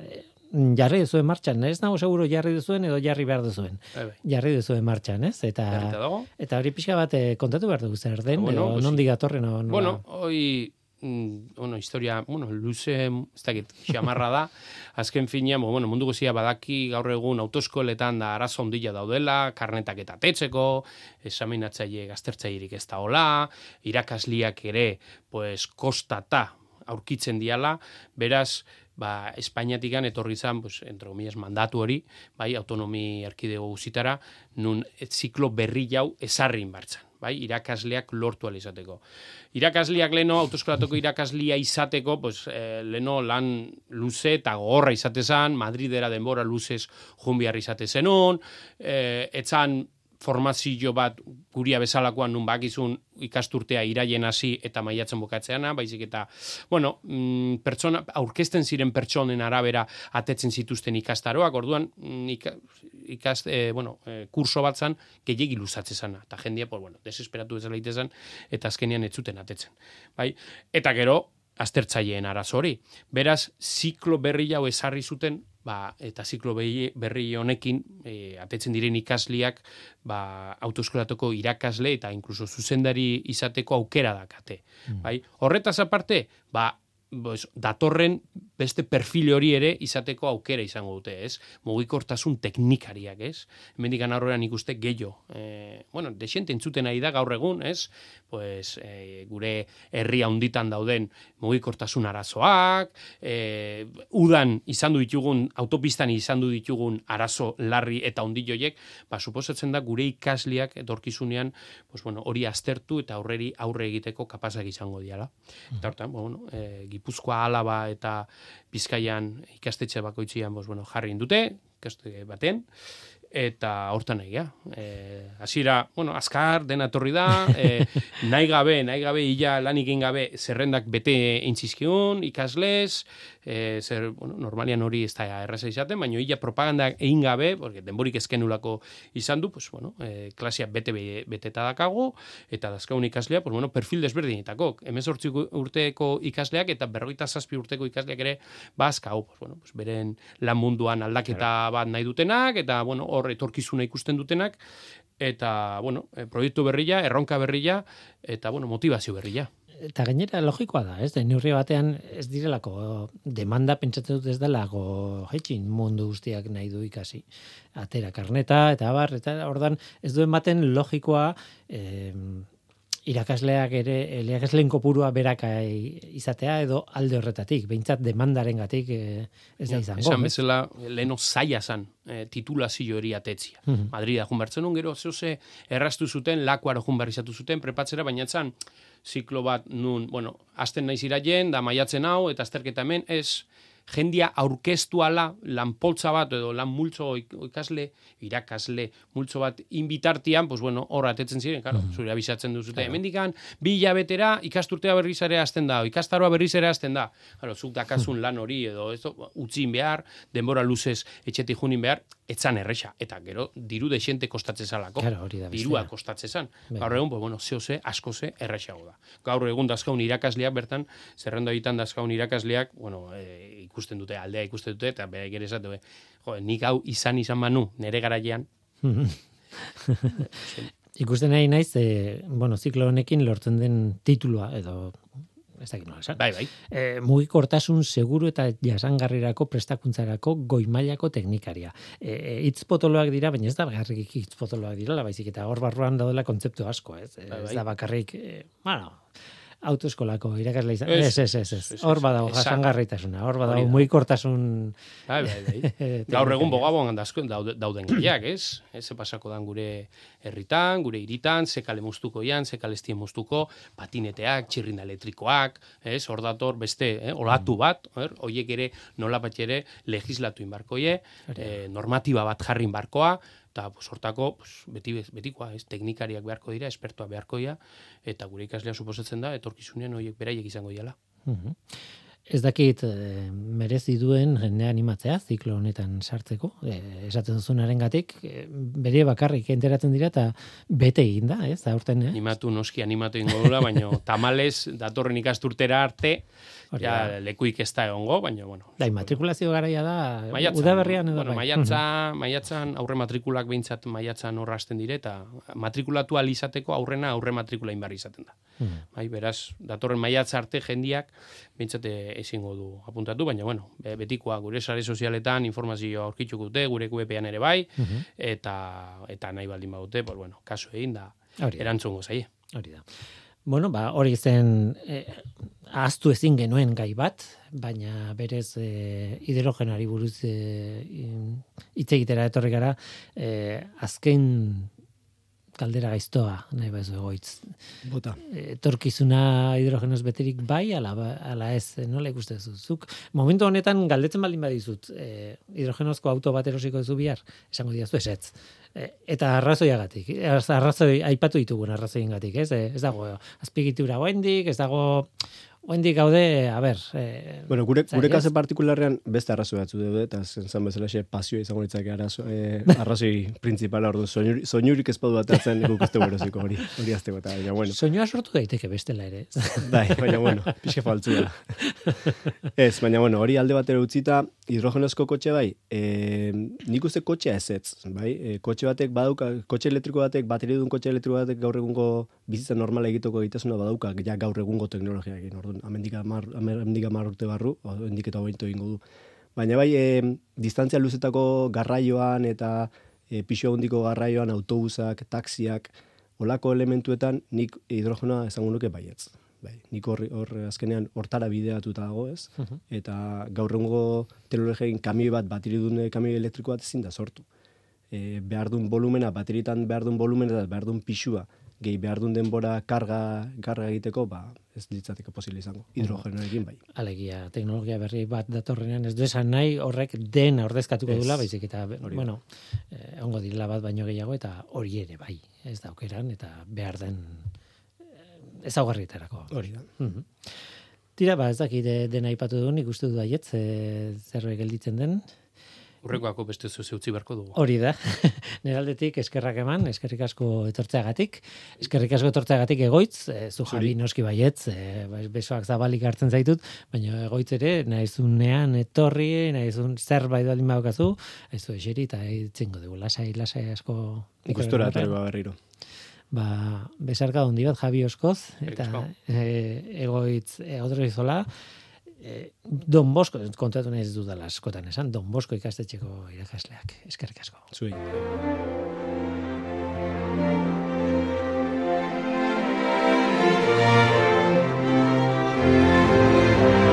S2: jarri duzuen martxan, ez nago seguro jarri duzuen edo jarri behar duzuen. Jarri duzuen martxan, ez? Eta, eta hori pixka bat kontatu behar dugu zer den, bueno, edo nondi gatorren. No, no,
S4: bueno, hoi, mm, bueno, historia, bueno, luze, ez dakit, xamarra da, azken finean, bueno, mundu guzia badaki gaur egun autoeskoletan da arazo ondila daudela, karnetak eta tetzeko, examinatzaile gaztertzailerik ez da hola, irakasliak ere, pues, kostata aurkitzen diala, beraz, ba, Espainiatikan etorri zan, pues, entre comillas, mandatu hori, bai, autonomi erkidego guzitara, nun ziklo berri jau ezarri inbartzan, bai, irakasleak lortu ala izateko. Irakasleak leno, autoeskolatoko irakaslia izateko, pues, eh, leno lan luze eta gogorra izate zan, Madridera denbora luzez junbiar izate zenun, eh, etzan formazio bat guria bezalakoan nun bakizun ikasturtea iraien hasi eta maiatzen bukatzeana, baizik eta, bueno, mm, pertsona, aurkezten ziren pertsonen arabera atetzen zituzten ikastaroak, orduan ika, ikast, eh, bueno, eh, kurso bat zan, gehiagi luzatze zana, eta jendia, pues, bueno, desesperatu bezala itezan, eta azkenean ez zuten atetzen. Bai? Eta gero, aztertzaileen arazo hori. Beraz, ziklo berri hau ezarri zuten, ba, eta ziklo berri honekin e, atetzen diren ikasliak ba, autoeskolatoko irakasle eta inkluso zuzendari izateko aukera dakate. Mm. Bai? Horretaz aparte, ba, pues, datorren beste perfil hori ere izateko aukera izango dute, ez? Mugikortasun teknikariak, ez? Hemendik aurrean ikuste gehiago. E, bueno, desente entzuten ari da gaur egun, ez? Pues, e, gure herria handitan dauden mugikortasun arazoak, e, udan izan du ditugun, autopistan izan du ditugun arazo larri eta hondilloiek, ba, suposatzen da gure ikasliak etorkizunean, pues, bueno, hori aztertu eta aurreri aurre egiteko kapazak izango diala. Eta hortan, bueno, e, Gipuzkoa, Alaba eta Bizkaian ikastetxe bakoitzian, pues, bueno, jarri indute, ikastetxe baten, eta hortan egia. Eh, hasiera, bueno, azkar dena etorri da, eh, nahi gabe, nahi gabe illa lanik egin gabe zerrendak bete eintzizkiun, ikaslez, eh, zer, bueno, normalian hori ez da erraza izaten, baina illa propaganda egin gabe, porque denborik ezkenulako izan du, pues, bueno, eh, klasia bete beteta dakago, eta dazkagun ikaslea, pues, bueno, perfil desberdinetako, hemezortzi urteko ikasleak eta berrogeita zazpi urteko ikasleak ere bazkau, pues, bueno, pues, beren lan munduan aldaketa bat nahi dutenak, eta, bueno, hor etorkizuna ikusten dutenak, eta, bueno, proiektu berria, erronka berria, eta, bueno, motivazio berria.
S2: Eta gainera logikoa da, ez? Neurri batean ez direlako demanda pentsatzen dut ez delako jaitxin mundu guztiak nahi du ikasi. Atera karneta, eta abar, eta ordan ez duen baten logikoa eh, irakasleak ere, irakasleen kopurua beraka izatea edo alde horretatik, behintzat demandarengatik eh, ez da izango.
S4: Esan bezala, leheno zaila zan, eh, titulazio hori atetzia. Uh-huh. Madrida jun bertzen un, gero zehose erraztu zuten, lakuaro jun berrizatu zuten, prepatzera, baina zan, ziklo bat nun, bueno, azten naiz iraien, da maiatzen hau, eta azterketa hemen, ez, jendia aurkeztu ala lanpoltza bat edo lan multzo ikasle, irakasle multzo bat inbitartian, pues bueno, hor atetzen ziren, claro, mm. zure abisatzen duzute, claro. Hemendikan bi hilabetera ikasturtea berriz ere hasten da, ikastaroa berriz ere hasten da. Claro, zuk dakazun lan hori edo ez utzin behar, denbora luzez etxetik junin behar, etzan erresa, eta gero diru dexente kostatzen zalako.
S2: Claro, hori da bestea.
S4: Dirua kostatzen zan. Gaur egun, pues bueno, zeo ze, asko ze, erresago da. Gaur egun dazkaun irakasleak bertan, zerrenda ditan dazkaun irakasleak, bueno, e, ikusten dute, aldea ikusten dute, eta beha ere esatu, jo, nik hau izan izan manu, nere garaian.
S2: Ikusten nahi naiz, e, bueno, ziklo honekin lortzen den titulua, edo ez dakit nola esan.
S4: Bai, bai.
S2: E, mugikortasun seguru eta jasangarrirako prestakuntzarako goi mailako teknikaria. E, hitz potoloak dira, baina ez da bakarrik hitz potoloak direla, baizik eta hor barruan daudela kontzeptu asko, ez? Bai, bai. Ez da bakarrik, e, bueno, autoeskolako irakasle izan. Ez, ez, ez, ez. Hor badago jasangarritasuna, hor badago mugikortasun. Bai,
S4: bai, bai. Gaur egun bogaboan dauden gaiak, ez? Ez pasako dan gure herritan, gure hiritan, ze kale moztuko ian, ze kale estien moztuko, patineteak, txirrinda elektrikoak, ez? Hor dator beste, eh? olatu bat, er? Oiek ere nola bat ere legislatu inbarkoie, eh, normatiba bat jarri inbarkoa, eta pues, hortako pues, beti, betikoa, ez, teknikariak beharko dira, espertoa beharko dira, eta gure ikaslea suposatzen da, etorkizunean horiek beraiek izango diala.
S2: Uh-huh. Ez dakit e, merezi duen jende animatzea ziklo honetan sartzeko, e, esaten duzunarengatik, e, bere bakarrik enteratzen dira eta bete egin da, ez, aurten, eh?
S4: Animatu, noski animatu ingo dula, baina tamales datorren ikasturtera arte, ja, lekuik ez da egongo, baina, bueno.
S2: Da, matrikulazio garaia da,
S4: maiatzan,
S2: udaberrian edo
S4: bueno,
S2: bai.
S4: Maiatzan, maiatzan aurre matrikulak behintzat maiatzan horra hasten dire, eta matrikulatu alizateko aurrena aurre matrikula inbarri izaten da. Hmm. Bai, beraz, datorren maiatza arte jendiak behintzat ezingo du apuntatu, baina, bueno, betikoa gure sare sozialetan informazioa aurkituko dute, gure webean ere bai, uh-huh. eta, eta nahi baldin badute, pues, bueno, kasu egin da, erantzungo zaie. Hori
S2: da. Bueno, ba, hori zen eh, ahaztu ezin genuen gai bat, baina berez eh, hidrogenari buruz eh, hitz egitera etorri gara, eh, azken kaldera gaiztoa, nahi baizu egoitz.
S5: Bota.
S2: Etorkizuna hidrogenoz beterik bai, ala, ala ez, nola ikusten zuzuk. Momentu honetan galdetzen baldin badizut, eh, hidrogenozko auto bat erosiko duzu bihar, esango diazu esetz. Eta arrazoiagatik, arrazoi aipatu ditugun arrazoiengatik, ez? Ez dago azpiegitura oraindik, ez dago oraindik gaude, a ber, eh,
S5: bueno, gure gure kasu partikularrean beste arrazoi batzu daude eta zen bezala xe pasioa izango litzake arazo eh, arrazoi printzipala ordu soinurik soinurik ez badu atertzen guk ez bereziko hori. Hori azteko eta baina bueno.
S2: Soinua sortu daiteke bestela ere.
S5: Bai, baina bueno, pixe faltzua. Ez, baina bueno, hori alde batera utzita hidrogenozko kotxe bai, eh, nik uste kotxea ezetz, bai? Eh, kotxe batek badauka, kotxe elektriko batek, bateriadun kotxe elektriko batek gaur egungo bizitza normala egiteko egitasuna badauka, ja gaur egungo teknologiarekin. Orduan, amendika mar, amendika mar urte barru, hendik eta hobeto egingo du. Baina bai, e, distantzia luzetako garraioan eta e, pixo handiko garraioan, autobusak, taxiak, olako elementuetan nik hidrogenoa esango nuke baietz. Bai, nik hor, hor azkenean hortara bideratuta dago, ez? Uh-huh. Eta gaur egungo teknologiarekin kamioi bat, bateridun kamioi elektriko bat ezin da sortu. E, behar duen volumena, bateritan behar duen volumena eta behar duen pixua, gehi behar duen denbora karga, karga egiteko, ba, ez litzateke posible izango. Hidrogenoarekin bai.
S2: Alegia, teknologia berri bat datorrenean ez du esan nahi horrek dena ordezkatuko dula, baizik eta, hori bueno, eh, ongo direla bat baino gehiago, eta hori ere bai, ez daukeran, eta behar den ezaugarrietarako.
S5: Hori da.
S2: Mm-hmm. Tira, ba, ez dakit dena aipatu duen, ikustu du aiet, zerbait gelditzen den.
S4: Urrekoako beste zuze utzi beharko dugu.
S2: Hori da. Neraldetik eskerrak eman, eskerrik asko etortzeagatik. Eskerrik asko etortzeagatik egoitz, e, zu Javi noski baietz, e, besoak zabalik hartzen zaitut, baina egoitz ere, nahizunean etorri, nahizun zerbait baldin badokazu, ez du eseri, eta itzingo dugu, lasai, lasai asko.
S5: Ikustura atarikoa berriro.
S2: Ba, besarka dondi bat, Javi Oskoz, eta e, egoitz e, odroizola, e, Don Bosko, kontatu nahi ez dudala askotan esan, Don Bosko ikastetxeko irakasleak, eskerrik asko.
S5: Zui.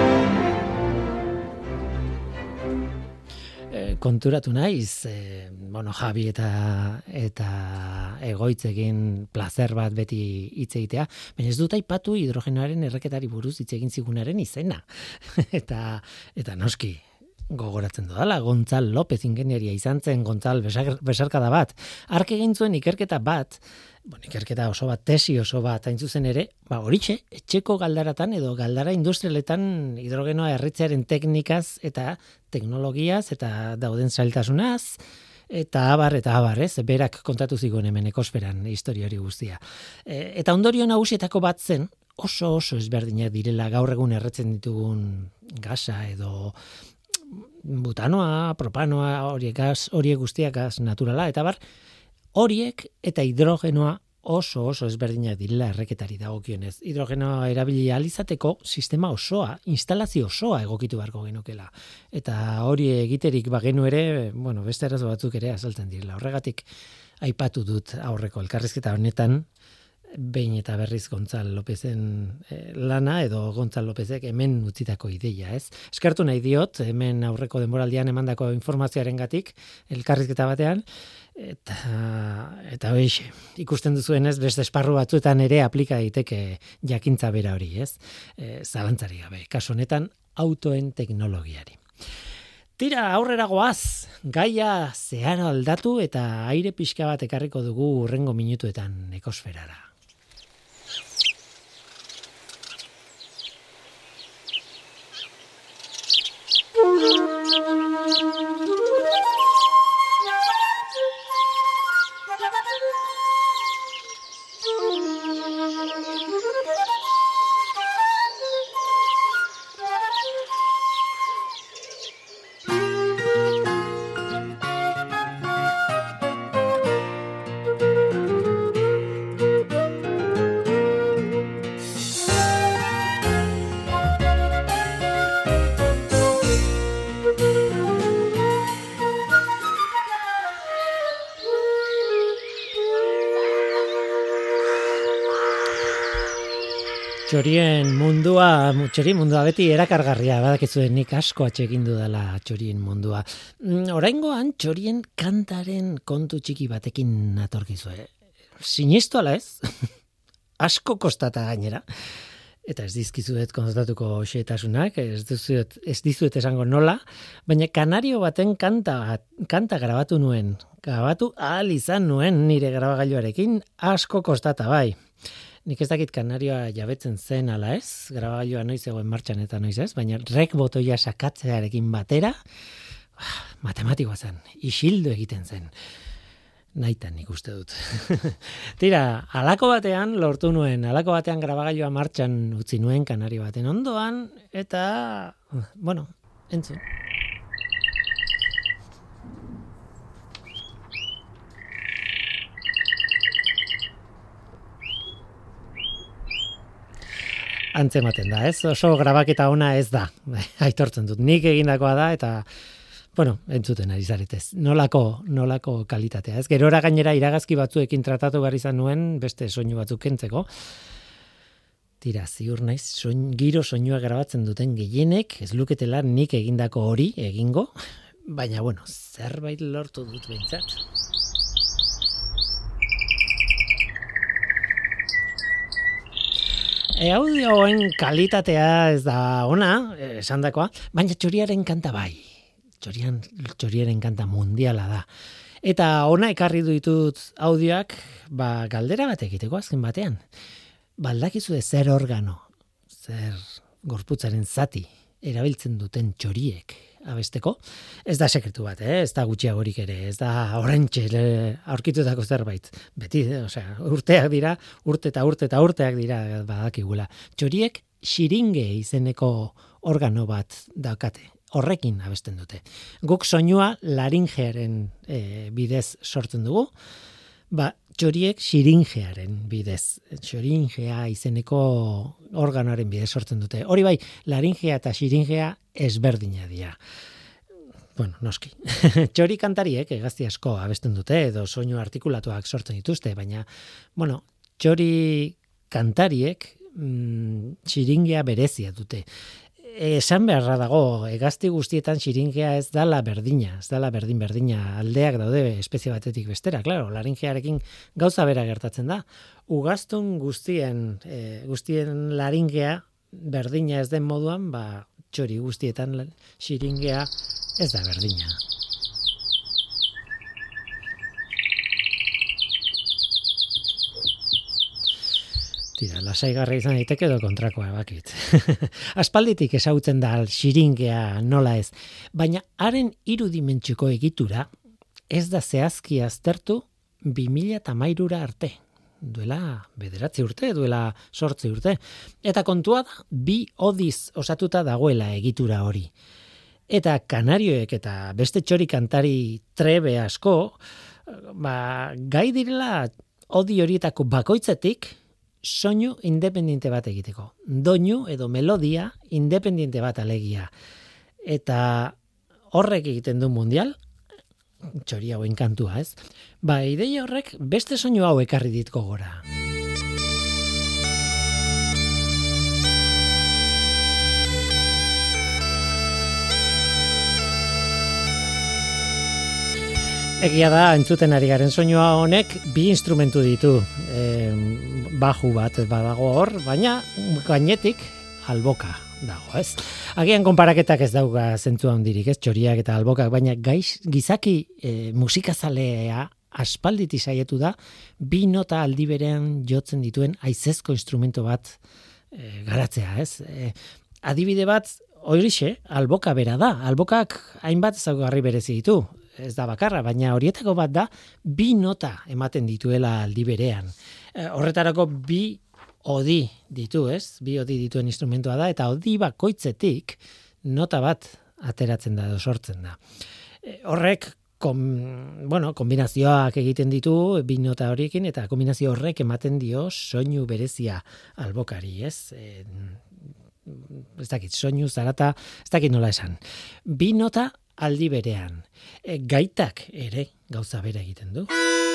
S2: Konturatu naiz, e, bueno, Javi eta eta egoitzekin plazer bat beti hitz egitea, baina ez dut aipatu hidrogenoaren erreketari buruz hitz egin zigunaren izena. eta eta noski gogoratzen dudala, Gontzal López ingenieria izan zen, Gontzal besarkada bat. Ark egin zuen ikerketa bat, bon, ikerketa oso bat, tesi oso bat, hain zuzen ere, ba, horitxe, etxeko galdaratan edo galdara industrialetan hidrogenoa erritzearen teknikaz eta teknologiaz eta dauden zailtasunaz, eta abar, eta abar, ez? Berak kontatu zigun hemen ekosferan historia hori guztia. E, eta ondorio nagusietako bat zen, oso oso ezberdinak direla gaur egun erretzen ditugun gasa edo butanoa, propanoa, horiek gas, horiek guztiak gas naturala, eta bar, horiek eta hidrogenoa oso oso ezberdinak direla erreketari dagokionez. Hidrogenoa erabili ahal izateko sistema osoa, instalazio osoa egokitu beharko genukela. Eta hori egiterik bagenu ere, bueno, beste arazo batzuk ere azaltzen direla. Horregatik aipatu dut aurreko elkarrizketa honetan, behin eta berriz Gontzal Lópezen eh, lana edo Gontzal Lópezek hemen utzitako ideia, ez? Eskertu nahi diot, hemen aurreko denboraldian emandako informazioarengatik elkarrizketa batean, eta eta hoixe, ikusten duzuenez beste esparru batzuetan ere aplika daiteke jakintza bera hori, ez? E, zalantzari gabe, kasu honetan autoen teknologiari. Tira, aurrera goaz, gaia zeharo aldatu eta aire pixka bat ekarriko dugu hurrengo minutuetan ekosferara. Txorien mundua, txorien mundua beti erakargarria, badakizuen nik asko atsegin dudala txorien mundua. Oraingoan txorien kantaren kontu txiki batekin natorkizue. Sinistu ala ez? Asko kostata gainera. Eta ez dizkizuet kontatuko xehetasunak, ez dizuet, ez dizuet esango nola, baina kanario baten kanta, kanta grabatu nuen. Grabatu ahal izan nuen nire grabagailuarekin, asko kostata bai. Nik ez dakit kanarioa jabetzen zen ala ez, grabagailua noiz egoen martxan eta noiz ez, baina rek botoia sakatzearekin batera, matematikoa zen, isildu egiten zen. Naitan nik uste dut. Tira, halako batean lortu nuen, halako batean grabagailua martxan utzi nuen kanario baten ondoan, eta, bueno, entzun. Antzematen da, ez? Oso grabaketa ona ez da. Aitortzen dut. Nik egindakoa da eta bueno, entzuten ari zaretez. Nolako, nolako kalitatea, ez? Gerora gainera iragazki batzuekin tratatu behar izan nuen beste soinu batzuk kentzeko. Tira, ziur naiz, soin, giro soinua grabatzen duten gehienek, ez luketela nik egindako hori egingo, baina bueno, zerbait lortu dut behintzat. E, audioen kalitatea ez da ona, esandakoa, baina txoriaren kanta bai. Txorian, txoriaren kanta mundiala da. Eta ona ekarri ditut audioak, ba, galdera bat egiteko azken batean. Baldakizu zer organo, zer gorputzaren zati erabiltzen duten txoriek abesteko. Ez da sekretu bat, eh? Ez da gutxiagorik ere, ez da oraintxe aurkitutako zerbait. Beti, osea, urteak dira, urte eta urte eta urteak dira badakigula. Txoriek xiringe izeneko organo bat daukate. Horrekin abesten dute. Guk soinua laringearen e, bidez sortzen dugu, ba, txoriek xiringearen bidez. Xiringea izeneko organoaren bidez sortzen dute. Hori bai, laringea eta xiringea ezberdina dira. Bueno, noski. Txori kantariek egazti asko abesten dute, edo soinu artikulatuak sortzen dituzte, baina, bueno, txori kantariek mm, xiringea berezia dute. esan beharra dago, hegazti guztietan xiringea ez dala berdina, ez dala berdin-berdina, aldeak daude espezie batetik bestera, claro, laringearekin gauza bera gertatzen da. Ugaztun guztien, e, guztien laringea berdina ez den moduan, ba, txori guztietan xiringea ez da berdina. Tira, lasaigarra izan daiteke edo kontrakoa bakit. Aspalditik ezagutzen da xiringea nola ez, baina haren irudimentxuko egitura ez da zehazki aztertu bi mila hamairura arte. Duela bederatzi urte, duela sortzi urte. Eta kontua da, bi odiz osatuta dagoela egitura hori. Eta kanarioek eta beste txori kantari trebe asko, ba, gai direla odi horietako bakoitzetik, soinu independiente bat egiteko. Doinu edo melodia independiente bat alegia. Eta horrek egiten du mundial, txori hauen kantua, ez? Ba, ideia horrek beste soinu hau ekarri ditko gora. Egia da, entzuten ari garen soinua honek bi instrumentu ditu. E, baju bat badago hor, baina gainetik alboka dago, ez? Agian konparaketak ez dauka zentzu handirik, ez? Txoriak eta albokak, baina gaiz, gizaki e, musikazalea aspalditi saietu da, bi nota aldi berean jotzen dituen haizezko instrumento bat e, garatzea, ez? E, adibide bat, horixe, alboka bera da. Albokak hainbat ezaugarri berezi ditu. Ez da bakarra, baina horietako bat da bi nota ematen dituela aldi berean. E, horretarako bi odi ditu, ez? Bi odi dituen instrumentua da, eta odi bakoitzetik nota bat ateratzen da edo sortzen da. E, horrek, kom, bueno, kombinazioak egiten ditu bi nota horiekin, eta kombinazio horrek ematen dio soinu berezia albokari, ez? E, ez dakit, soinu zarata, ez dakit nola esan. Bi nota aldi berean. E, gaitak ere gauza bera egiten du.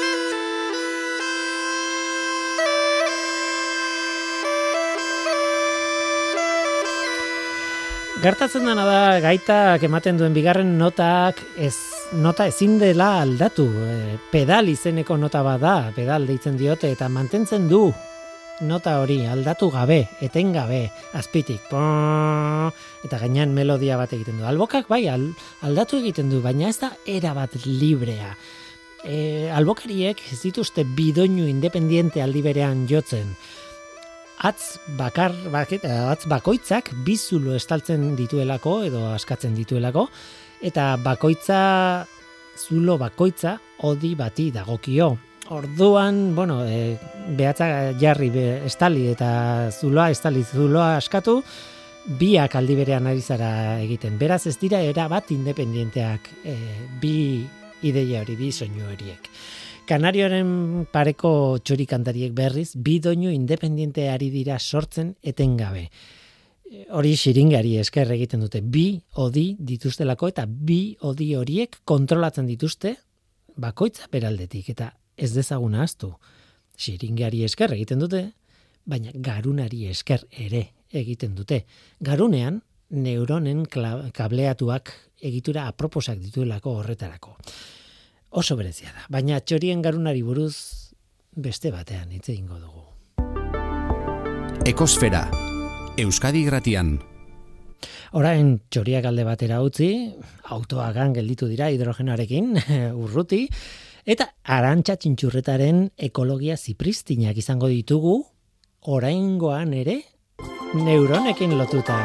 S2: Gertatzen dena da gaitak ematen duen bigarren notak ez, nota ezin dela aldatu. E, pedal izeneko nota bada, pedal deitzen diote eta mantentzen du nota hori aldatu gabe, etengabe, azpitik. Eta gainean melodia bat egiten du. Albokak bai aldatu egiten du, baina ez da era bat librea. E, albokariek ez dituzte bidoinu independiente aldi berean jotzen. Atz bakar, atz bakoitzak bizulo estaltzen dituelako edo askatzen dituelako, eta bakoitza, zulo bakoitza odi bati dagokio. Orduan, bueno, e, behatza jarri be, estali eta zuloa estali zuloa askatu, biak aldi berean ari zara egiten. Beraz ez dira era bat independienteak e, bi ideia hori, bi soinu horiek. Kanarioaren pareko txori kantariek berriz, bi doinu independiente ari dira sortzen etengabe. Hori xiringari esker egiten dute, bi odi dituztelako eta bi odi horiek kontrolatzen dituzte bakoitza beraldetik, eta ez dezaguna ahaztu. Xiringari esker egiten dute, baina garunari esker ere egiten dute. Garunean, neuronen kableatuak egitura aproposak dituelako horretarako. Oso berezia da, baina txorien garunari buruz beste batean hitz egingo dugu.
S1: Ekosfera, Euskadi Gratian.
S2: Orain txoriak alde batera utzi, autoagan gelditu dira hidrogenoarekin, urruti, eta Arantxa Txintxurretaren ekologia zipristinak izango ditugu, oraingoan ere neuronekin lotuta.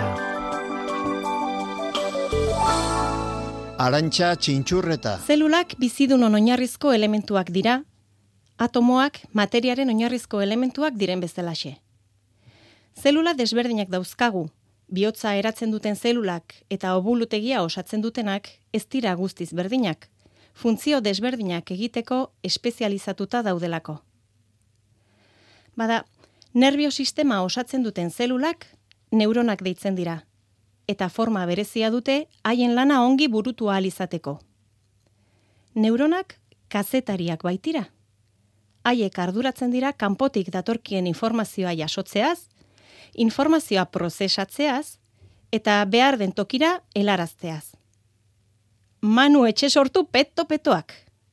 S6: Arantxa Txintxurreta.
S7: Zelulak bizidunon oinarrizko elementuak dira, atomoak materiaren oinarrizko elementuak diren bezalaxe. Zelula desberdinak dauzkagu, bihotza eratzen duten zelulak eta obulutegia osatzen dutenak ez dira guztiz berdinak, funtzio desberdinak egiteko espezializatuta daudelako. Bada, nerbiosistema osatzen duten zelulak neuronak deitzen dira, eta forma berezia dute haien lana ongi burutu ahal izateko. Neuronak kazetariak baitira. Haiek arduratzen dira kanpotik datorkien informazioa jasotzeaz, informazioa prozesatzeaz, eta behar den tokira helarazteaz. Manu etxe sortu peto-petoak.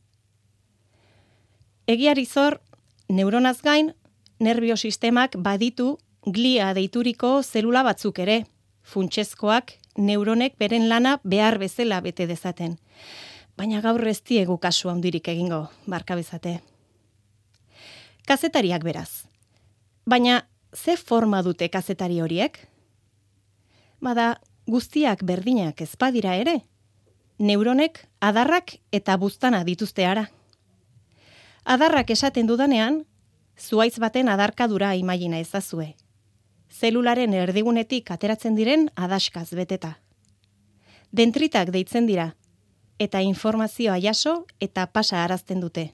S7: Egiari zor, neuronaz gain, nerbiosistemak baditu glia deituriko zelula batzuk ere, funtsezkoak neuronek beren lana behar bezala bete dezaten. Baina gaur ez diegu kasu handirik egingo, barka bezate. Kazetariak beraz. Baina ze forma dute kazetari horiek? Bada, guztiak berdinak ezpadira ere. Neuronek adarrak eta buztana dituzte ara. Adarrak esaten dudanean, zuhaitz baten adarkadura imagina ezazue. Zelularen erdigunetik ateratzen diren adaskaz beteta. Dentritak deitzen dira, eta informazioa jaso eta pasa arazten dute.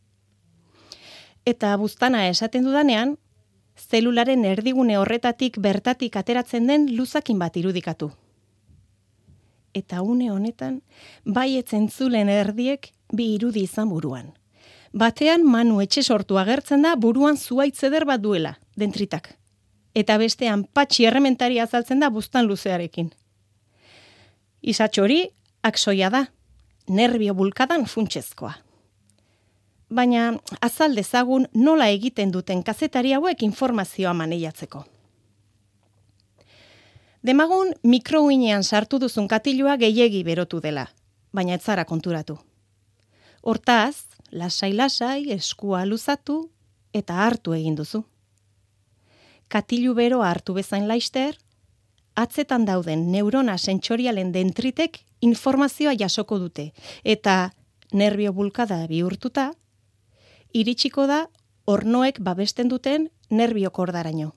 S7: Eta buztana esaten dudanean, zelularen erdigune horretatik bertatik ateratzen den luzakin bat irudikatu. Eta une honetan, baietz entzulen erdiek bi irudi izan buruan. Batean Manu etxe sortu agertzen da buruan zuhaitz eder bat duela, dentritak. Eta bestean patxi errementari azaltzen da buztan luzearekin. Isatxo hori, aksoia da, nerbio bulkadan funtsezkoa. Baina azal dezagun nola egiten duten kazetari hauek informazioa maneiatzeko. Demagun mikrouinean sartu duzun katilua gehiegi berotu dela, baina ez zara konturatu. Hortaz, lasai-lasai, eskua luzatu eta hartu egin duzu. Katilu bero hartu bezain laister, atzetan dauden neurona sentsorialen dentritek informazioa jasoko dute, eta nerbio bulkada bihurtuta, iritsiko da ornoek babesten duten nerbio kordaraino.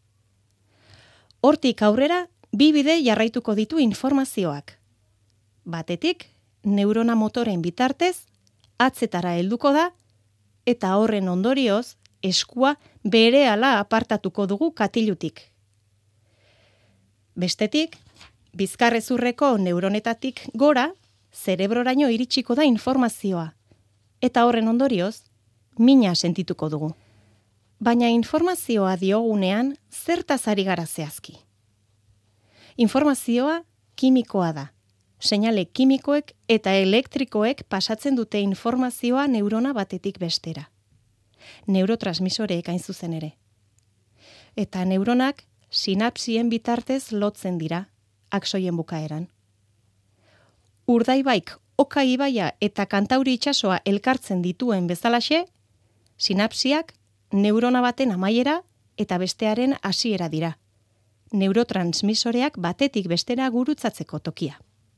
S7: Hortik aurrera, bi bide jarraituko ditu informazioak. Batetik, neurona motoren bitartez, atzetara helduko da, eta horren ondorioz, eskua berehala apartatuko dugu katilutik. Bestetik, bizkarrezurreko neuronetatik gora, zerebroraino iritsiko da informazioa, eta horren ondorioz, mina sentituko dugu. Baina informazioa diogunean zertaz ari gara zehazki. Informazioa kimikoa da. Seinale kimikoek eta elektrikoek pasatzen dute informazioa neurona batetik bestera. Neurotransmisoreek hain zuzen ere. Eta neuronak sinapsien bitartez lotzen dira, aksoien bukaeran. Urdaibaik, Oka ibaia eta Kantauri itsasoa elkartzen dituen bezalaxe, sinapsiak neurona baten amaiera eta bestearen hasiera dira. Neurotransmisoreak batetik bestera gurutzatzeko tokia.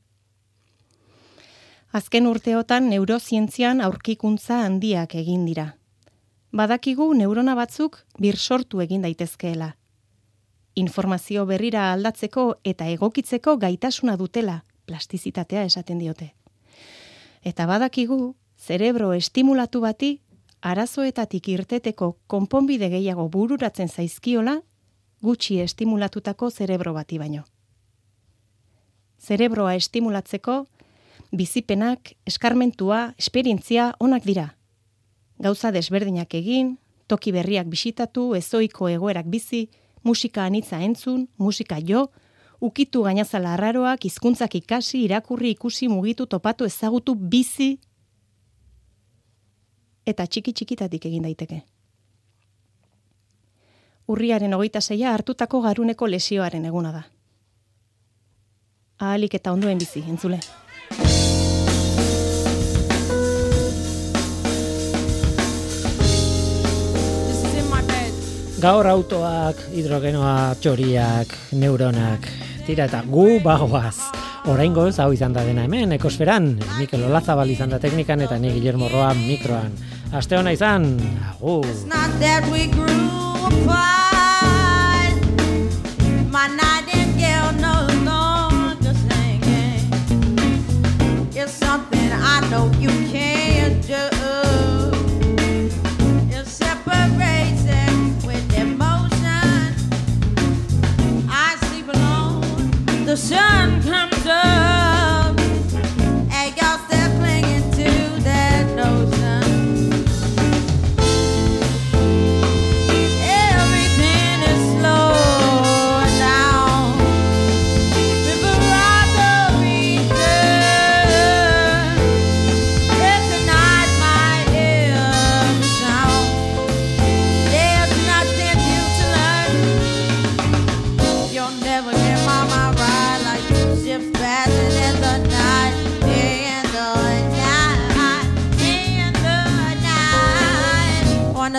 S7: Azken urteotan neurozientzian aurkikuntza handiak egin dira. Badakigu neurona batzuk birsortu egin daitezkeela. Informazio berrira aldatzeko eta egokitzeko gaitasuna dutela, plastizitatea esaten diote. Eta badakigu, zerebro estimulatu bati, arazoetatik irteteko konponbide gehiago bururatzen zaizkiola, gutxi estimulatutako zerebro bati baino. Zerebroa estimulatzeko, bizipenak, eskarmentua, esperientzia onak dira. Gauza desberdinak egin, toki berriak bisitatu, ezoiko egoerak bizi, musika anitza entzun, musika jo, ukitu gainazala arraroak, hizkuntzak ikasi, irakurri, ikusi, mugitu, topatu, ezagutu, bizi, eta txiki-txikitatik egin daiteke. Urriaren hogeita seia hartutako garuneko lesioaren eguna da. Ahalik eta ondoen bizi, entzule.
S2: Gaur autoak, hidrogenoak, txoriak, neuronak, tira eta gu bagoaz. Oraingoz hau izan da dena hemen, Ekosferan, Mikel Olazabal izan da teknikan eta ni Guillermo Roa mikroan. Aste ona izan, agur.
S6: The sun comes up and y'all still clinging to that notion. Every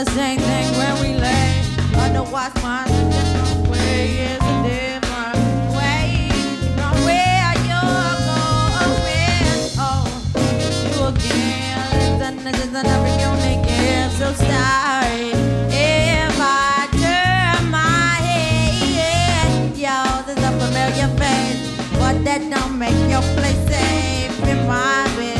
S6: the same thing when we lay under watch my different way is a different way from where you're going. Oh, you again, listen, this is another unique year, so sorry if I turn my head. Yo, there's a familiar face, but that don't make your place safe in my bed.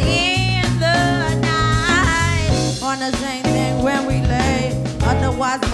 S6: Was